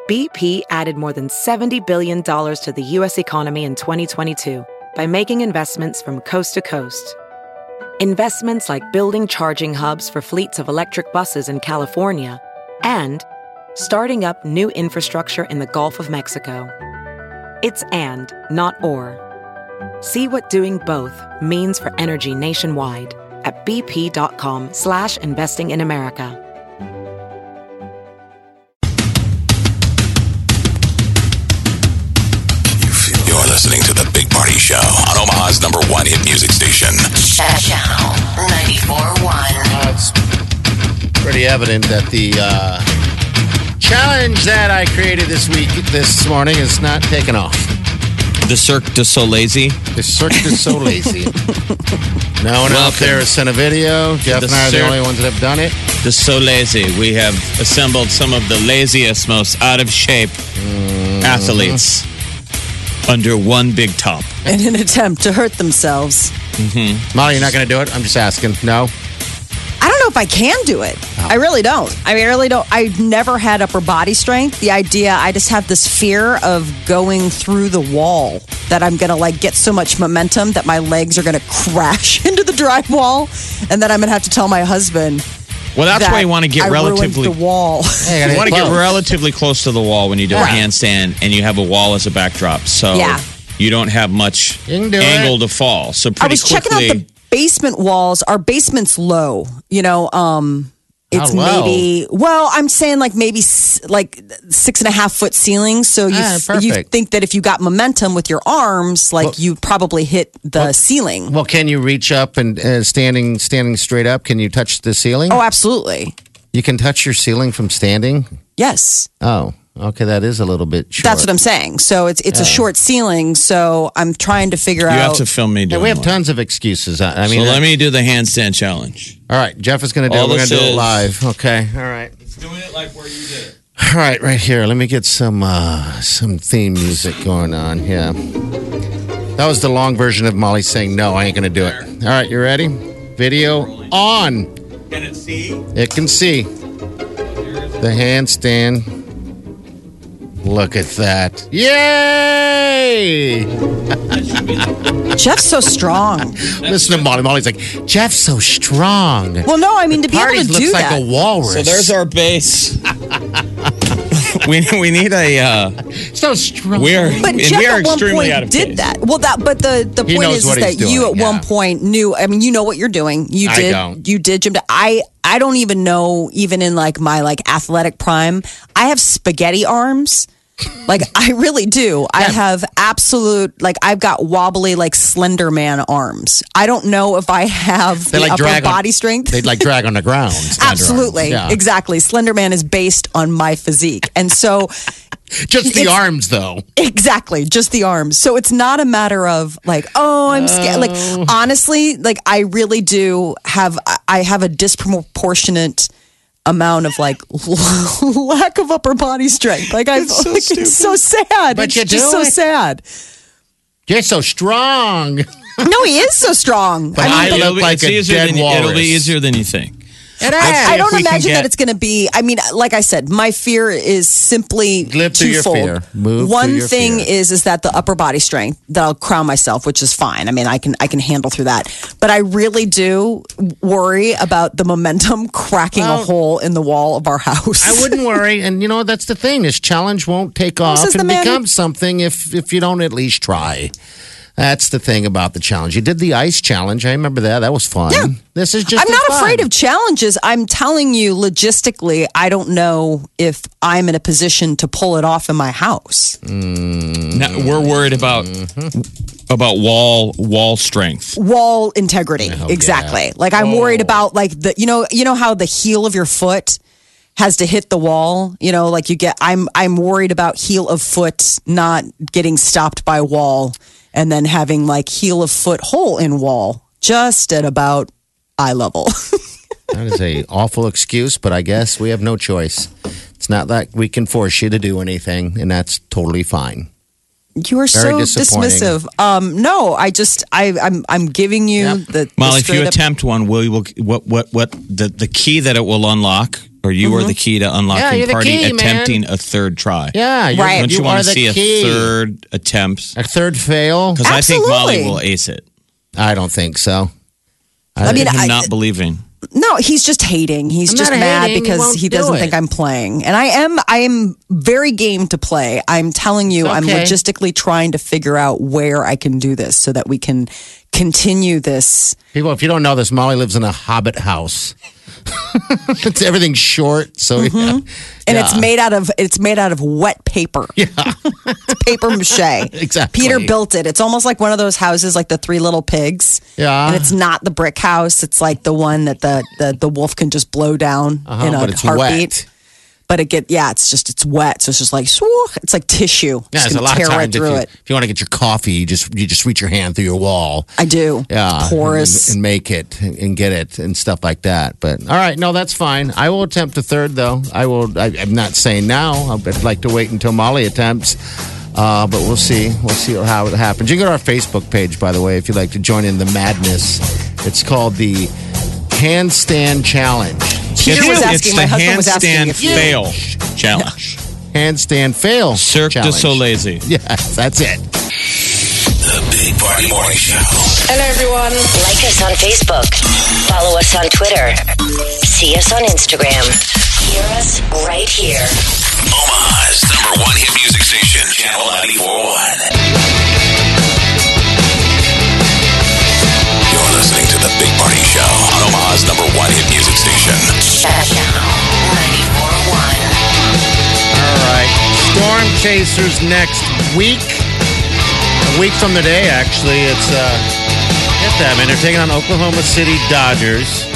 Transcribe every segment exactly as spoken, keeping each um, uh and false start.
B P added more than seventy billion dollars to the U S economy in twenty twenty-two by making investments from coast to coast. Investments like building charging hubs for fleets of electric buses in California and starting up new infrastructure in the Gulf of Mexico. It's and, not or. See what doing both means for energy nationwide at bp.com slash investing in America. You're listening to The Big Party Show on Omaha's number one hit music station. Channel ninety-four point one. Uh, it's pretty evident that the uh, challenge that I created this week, this morning, is not taking off. The Cirque du Soleil. The Cirque du Soleil. No one out there has sent a video. Jeff The and I are the Cirque- only ones that have done it. The Soleil. We have assembled some of the laziest, most out of shape athletes under one big top. In an attempt to hurt themselves. Molly, you're not going to do it? I'm just asking. No? I don't know if I can do it. Oh. I really don't. I mean, I really don't. I've never had upper body strength. The idea, I just have this fear of going through the wall that I'm going to like get so much momentum that my legs are going to crash into the drywall and then I'm going to have to tell my husband. Well, that's that why you want to get I relatively. ruined the wall. Hey, You want to get close. relatively close to the wall when you do a handstand, and you have a wall as a backdrop, so Yeah. you don't have much You can do angle it. to fall. So I pretty was checking quickly, out the basement walls. Our basement's low. You know, um, it's How low? maybe, well, I'm saying like maybe s- like six and a half foot ceilings. So you, Ah, you perfect. think that if you got momentum with your arms, like Well- you probably hit the ceiling. Well, can you reach up and uh, standing standing straight up? Can you touch the ceiling? Oh, absolutely. You can touch your ceiling from standing? Yes. Oh, okay. That is a little bit short. That's what I'm saying. So it's it's a short ceiling. So I'm trying to figure you out. have to film me Yeah, doing we have one. tons of excuses. I I So mean, let uh, me do the handstand challenge. all right. Jeff is going to do All it. We're going this to do it is- live. Okay. All right. It's doing it like where you did it. All right. Right here. Let me get some uh, some theme music going on. Yeah. That was the long version of Molly saying, no, I ain't going to do it. All right. You ready? Video on. Can it see? It can see. The handstand. Look at that. Yay! Jeff's so strong. Listen to Molly. Molly's like, Jeff's so strong. Well, no, I mean to be able Parties to looks do like that. a walrus. So there's our base. we we need a. Uh, so strong. we are But and Jeff we are at one extremely point out of did pace. that. Well, that but the the He point knows is, what is he's that you doing, at yeah. one point knew. I mean, you know what you're doing. You I did. don't. You did gym. I I don't even know. Even in like my like athletic prime, I have spaghetti arms. Like I really do. I have absolute like I've got wobbly like Slender Man arms. I don't know if I have They the like upper drag body on, strength. They'd like drag on the ground. Slender Absolutely, arms. Yeah. exactly. Slender Man is based on my physique, and so. Just the It's- arms, though. Exactly, just the arms. So it's not a matter of like, oh, I'm scared. Like honestly, like I really do have I have a disproportionate amount of like lack of upper body strength. Like I It's so like, stupid. it's so sad. But it's you just do so it. sad. You're so strong. No, he is so strong. But I mean, I the- look It'll be- like it's a easier dead than you- It'll walrus. be easier than you think. It Let's is. see I if don't we can imagine get- that it's going to be. I mean, like I said, my fear is simply Live through your twofold. fear. Move One through your thing fear. is is that the upper body strength that I'll crown myself, which is fine. I mean, I can I can handle through that. But I really do worry about the momentum cracking a Well- hole in the wall of our house. I wouldn't worry. And, you know, that's the thing. This challenge won't take off says the and man who- become something if, if you don't at least try. That's the thing about the challenge. You did the ice challenge. I remember that. That was fun. Yeah. This is just I'm as not fun. afraid of challenges. I'm telling you, logistically, I don't know if I'm in a position to pull it off in my house. Now, we're worried about about wall wall strength. Wall integrity, exactly. Like I'm worried about like the you know you know how the heel of your foot has to hit the wall. You know, like you get. I'm I'm worried about heel of foot not getting stopped by wall, and then having like heel of foot hole in wall just at about eye level. That is a awful excuse, but I guess we have no choice. It's not that we can force you to do anything, and that's totally fine. You are Very so disappointing. dismissive. Um, no, I just I I'm I'm giving you Yep. the, the Molly, if you straight up- attempt one, will you will what what what the the key that it will unlock Or you Mm-hmm. are the key to unlocking Yeah, you're the party key, man. attempting a third try. Yeah, you're, Right. Don't you, you want are to the see key. a third attempt? A third fail? Because I think Molly Absolutely. will ace it. I don't think so. I mean, I'm I, not believing. no, he's just hating. He's I'm just not mad hating. He because won't he do doesn't it. think I'm playing. And I am I am very game to play. I'm telling you, I'm Okay. logistically trying to figure out where I can do this so that we can continue this. People, if you don't know this, Molly lives in a hobbit house. It's everything's short, so yeah. And it's Yeah. made out of it's made out of wet paper. Yeah. It's paper mache. Exactly. Peter built it. It's almost like one of those houses like the Three Little Pigs. Yeah. And it's not the brick house. It's like the one that the the, the wolf can just blow down Uh-huh, in a but it's heartbeat. wet. But it get yeah, it's just it's wet. So it's just like swoo, it's like tissue. Yeah, Just there's a gonna lot tear of right times if through you, it. if you want to get your coffee, you just you just reach your hand through your wall. I do. Yeah, It's porous. and, and make it and, and get it and stuff like that. But all right, no, that's fine. I will attempt a third though. I will. I, I'm not saying now. I'd like to wait until Molly attempts. Uh, but we'll see. We'll see how it happens. You can go to our Facebook page, by the way, if you'd like to join in the madness. It's called the Handstand Challenge. Peter It's- was it's asking, the my husband was asking handstand if you- fail challenge. Handstand fail. Cirque du challenge. Soleil. Yes, that's it. The Big Party Morning Show. Hello, everyone. Like us on Facebook. Follow us on Twitter. See us on Instagram. Hear us right here. Omaha's number one hit music station, Channel ninety-four point one. You're listening to The Big Party Show on Omaha's number one hit music station. Channel ninety-four point one. All right. Storm Chasers next week. A week from today, actually. It's, uh, get that, man. They're taking on Oklahoma City Dodgers.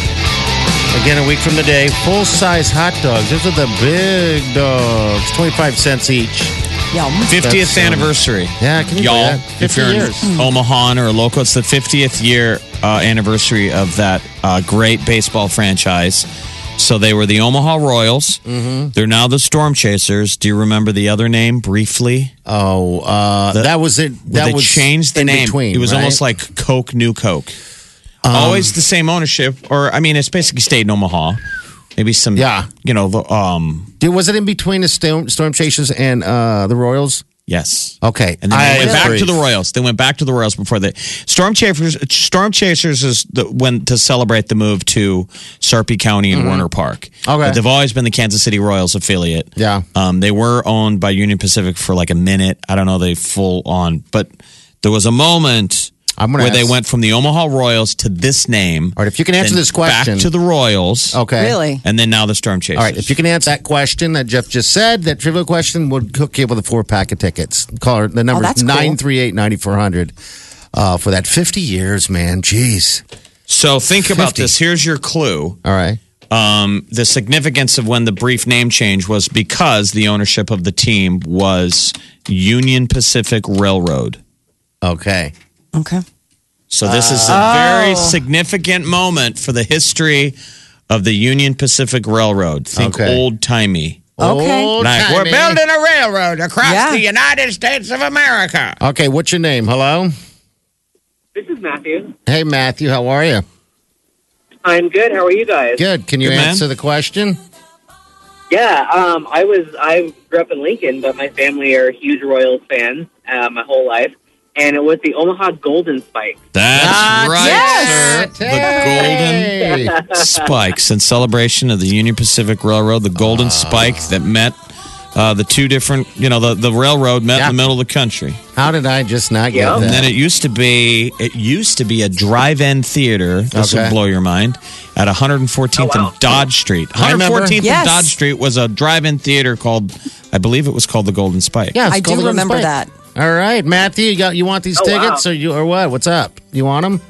Again, a week from today. Full-size hot dogs. Those are the big dogs. twenty-five cents each. Yum. fiftieth That's, um, anniversary. Yeah, can you Y'all, believe that? if fifty you're years. in Omaha or local, it's the fiftieth year uh, anniversary of that uh, great baseball franchise. So they were the Omaha Royals. Mm-hmm. They're now the Storm Chasers. Do you remember the other name briefly? Oh, uh, The- that was it. Well, That they was changed the in name. between, it was right? almost like Coke, New Coke. Um, Always the same ownership, or I mean, it's basically stayed in Omaha. Maybe some, Yeah. you know, the, um, Dude, was it in between the Storm, Storm Chasers and uh, the Royals? yes. Okay. And then they I went back agree. to the Royals. They went back to the Royals before they Storm Chasers. Storm Chasers is the when to celebrate the move to Sarpy County and Warner Park. Mm-hmm. Okay. But they've always been the Kansas City Royals affiliate. Yeah. Um, they were owned by Union Pacific for like a minute. I don't know they full on, but there was a moment I'm gonna where they ask- went from the Omaha Royals to this name. All right, if you can answer then this question. back to the Royals. Okay. Really? And then now the Storm Chasers. All right, if you can answer that question that Jeff just said, that trivial question, we'll hook you up with a four pack of tickets. Call her, the number that's is cool. nine three eight, nine four hundred uh, for that fifty years, man. Jeez. So think about fifty. this. Here's your clue. All right. Um, the significance of when the brief name change was because the ownership of the team was Union Pacific Railroad. Okay. Okay. So this is a very significant moment for the history of the Union Pacific Railroad. Think Okay. old timey. Okay. Old Like we're timey. building a railroad across Yeah. the United States of America. Okay, what's your name? Hello? This is Matthew. Hey, Matthew, how are you? I'm good. How are you guys? Good. Can you Good, man. answer the question? Yeah, um, I was I grew up in Lincoln, but my family are huge Royals fans uh, my whole life, and it was the Omaha Golden Spikes. That's Ah, right, yes. sir. The Golden Hey. Spikes in celebration of the Union Pacific Railroad, the Golden Spike that met uh, the two different, you know, the, the railroad met Yeah. in the middle of the country. How did I just not get Yeah. that? And then it used to be it used to be a drive-in theater. This Okay. will blow your mind. At one hundred fourteenth Oh, wow. and Dodge Street. I remember. one hundred fourteenth Yes. and Dodge Street was a drive-in theater called, I believe it was called the Golden Spike. yeah, it's I called do the Golden remember Spike. that. All right, Matthew, you got you want these Oh, tickets wow. or you or what? What's up? You want them?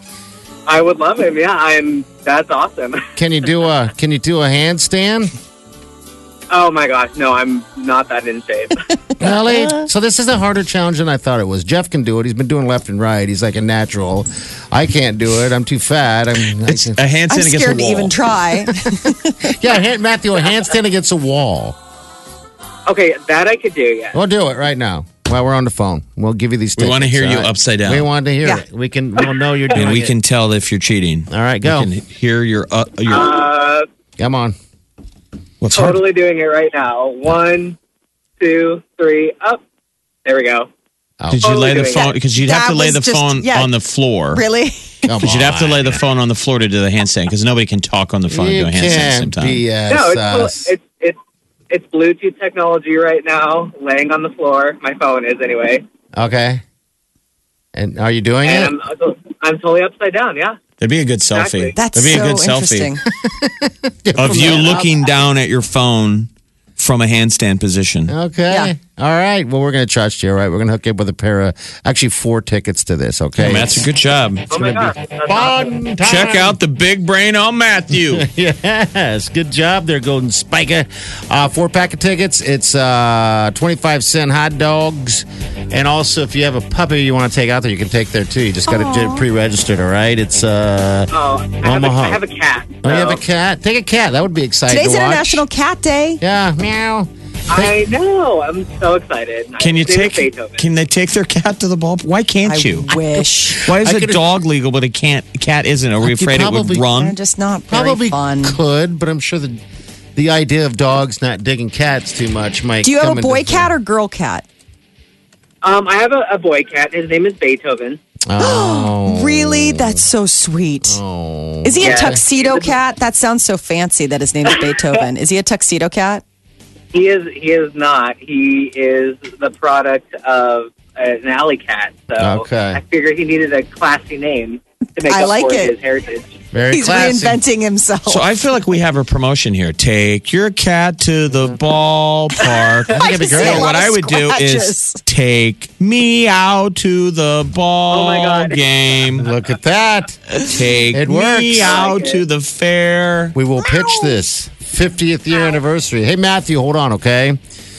I would love him. Yeah, I'm. That's awesome. Can you do a Can you do a handstand? Oh my gosh, no, I'm not that in shape. Really? So this is a harder challenge than I thought it was. Jeff can do it. He's been doing left and right. He's like a natural. I can't do it. I'm too fat. I'm. It's I a can, handstand I'm against scared the to wall. even try. yeah, hand, Matthew, a handstand against a wall. Okay, that I could do. Yeah. We'll do it right now while we're on the phone. We'll give you these We tickets. want to hear all you right? upside down. We want to hear Yeah. it. We can. We'll know you're doing and we it. can tell if you're cheating. All right, go. We can hear your uh, your Uh, Come on. What's hard? Totally doing it right now. One, two, three, up. There we go. Oh. Did you Totally lay the doing phone? that. Because you'd have That to lay was the just- phone yeah. on the floor. Really? Come Because you'd have to on. lay the phone on the floor to do the handstand. Because nobody can talk on the phone You and do a handstand at the same can't time. B S No, it's, us. it's it's it's Bluetooth technology right now, laying on the floor. My phone is anyway, Okay. And are you doing and it? I'm I'm totally upside down. Yeah. That'd be a good Exactly. selfie. That's That'd be a so good interesting. selfie of you looking down at your phone from a handstand position. Okay. Yeah. All right. Well, we're going to trust you. All right. We're going to hook you up with a pair of, actually, four tickets to this. Okay. Hey, Matt's a good job. Oh my gosh. That's awesome. Fun time. Check out the big brain on Matthew. Yes. Good job there, Golden Spiker. Uh, four pack of tickets. It's uh, twenty-five cent hot dogs. And also, if you have a puppy you want to take out there, you can take there too. You just got to get pre registered. All right. It's, uh, Oh, I have, a, Omaha. I have a cat. oh, you have a so- cat? Take a cat. That would be exciting Today's to watch. International Cat Day. Yeah. Meow. I know. I'm so excited. Can you His name is take? Beethoven. Can they take their cat to the ball? Why can't I you? wish. Why is I a could- dog legal but a can't cat isn't? Are we You afraid it would probably- They're run? just not very Probably fun. could, but I'm sure the the idea of dogs not digging cats too much might. Do you have come a boy into- cat or girl cat? Um, I have a, a boy cat. His name is Beethoven. Oh, Really? That's so sweet. oh. Is he a Yeah. tuxedo cat? That sounds so fancy that his name is Beethoven. Is he a tuxedo cat? He is. He is not. He is the product of an alley cat. So Okay. I figured he needed a classy name to make I up like for it. his heritage. Very He's classy. reinventing himself. So I feel like we have a promotion here. Take your cat to the ballpark. I think it'd be see great. a lot What of I would do is scratches. take me out to the ball Oh my God. game. Look at that. Take It me works. out I like to it. the fair. We will pitch this fiftieth year anniversary. Hey, Matthew, hold on, okay?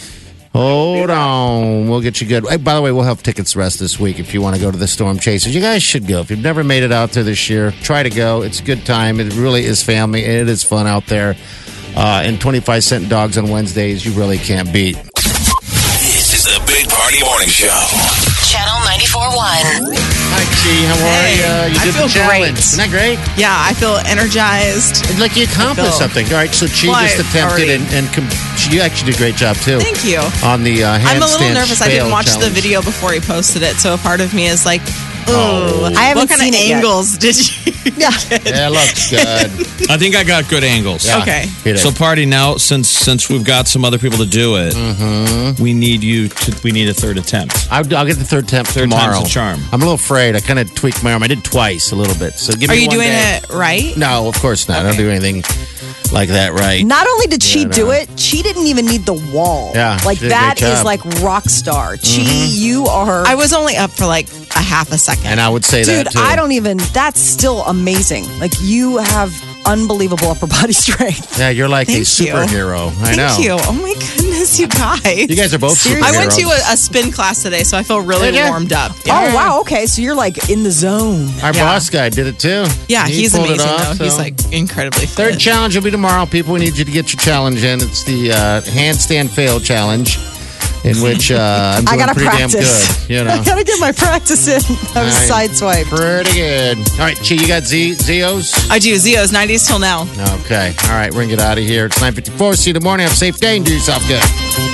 Hold on. We'll get you good. Hey, by the way, we'll have tickets the rest this week if you want to go to the Storm Chasers. You guys should go. If you've never made it out there this year, try to go. It's a good time. It really is family, and it is fun out there. Uh, and twenty-five cent dogs on Wednesdays, you really can't beat. This is the Big Party Morning Show. Channel ninety-four point one. Hi, Chi. How are Hey, you? You I did feel the challenge. great. Isn't that great? Yeah, I feel energized. It's like you accomplished feel- something. All right, so Chi Well, just I attempted, already- and, and com- she actually did a great job, too. Thank you. On the uh, handstand I'm a little nervous. I didn't fail watch challenge. the video before he posted it, so a part of me is like, ooh, Oh. I haven't what kind seen of it yet. angles did you? Yeah. Yeah, it looks good. I think I got good angles. Yeah. Okay. Hit it. So party now, since since we've got some other people to do it, Mm-hmm. we need you to. We need a third attempt. I'll, I'll get the third attempt Third tomorrow. time's the charm. I'm a little afraid. I kind of tweaked my arm. I did twice a little bit. So give Are me you one doing day. it right? No, of course not. I don't do anything like that right. Not only did she Yeah, do no. it, she didn't even need the wall. Yeah, Like she did a that great is job. like rock star. Chi, you are. I was only up for like a half a second. And I would say Dude, that too. I don't even. That's still amazing. Like you have unbelievable upper body strength. Yeah, you're like Thank a you. superhero. I Thank know. you. Oh my goodness, you guys. You guys are both superheroes. I went to a, a spin class today, so I feel really Did ya? warmed up. Oh wow. Okay, so you're like in the zone. Our Yeah. boss guy did it too. Yeah, He he's pulled it amazing off, though. He's so- like incredibly fit. Third challenge will be tomorrow. People, we need you to get your challenge in. It's the uh, handstand fail challenge, in which uh, I'm I doing gotta pretty practice. damn good. You know, I gotta get my practice in. I was Right. sideswiped. pretty good. All right, Chi, you got Z Zeos? I do. Zio's nineties till now. Okay. All right, we're gonna get out of here. It's nine fifty-four. See you in the morning. Have a safe day and do yourself good.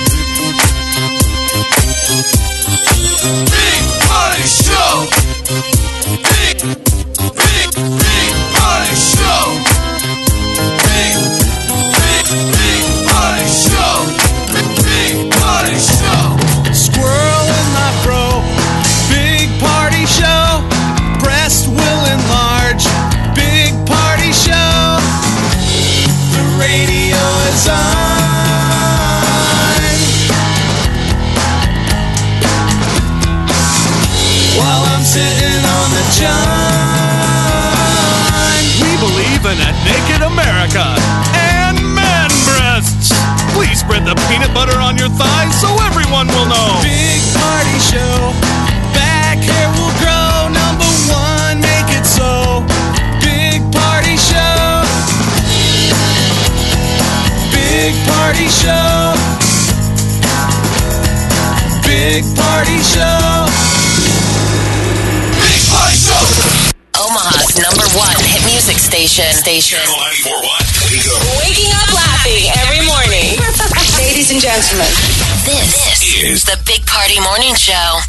Big Party Show. Big, big, big Party Show. Big, big, big Party Show. Big Party Show. Squirrel in my fro. Big party show. Breast will enlarge. Big party show. The radio is on. While I'm sitting on the john. We believe in a naked America and man breasts. Please spread the peanut butter on your thighs so everyone will know. Big party show. Back hair will grow. Number one, make it so. Big party show. Big party show. Big party show. Big Party Show. Omaha's number one hit music music station. Station. ninety-four point one. Wake up. Waking up laughing every morning. Ladies and gentlemen, This, this is the Big Party Morning Show.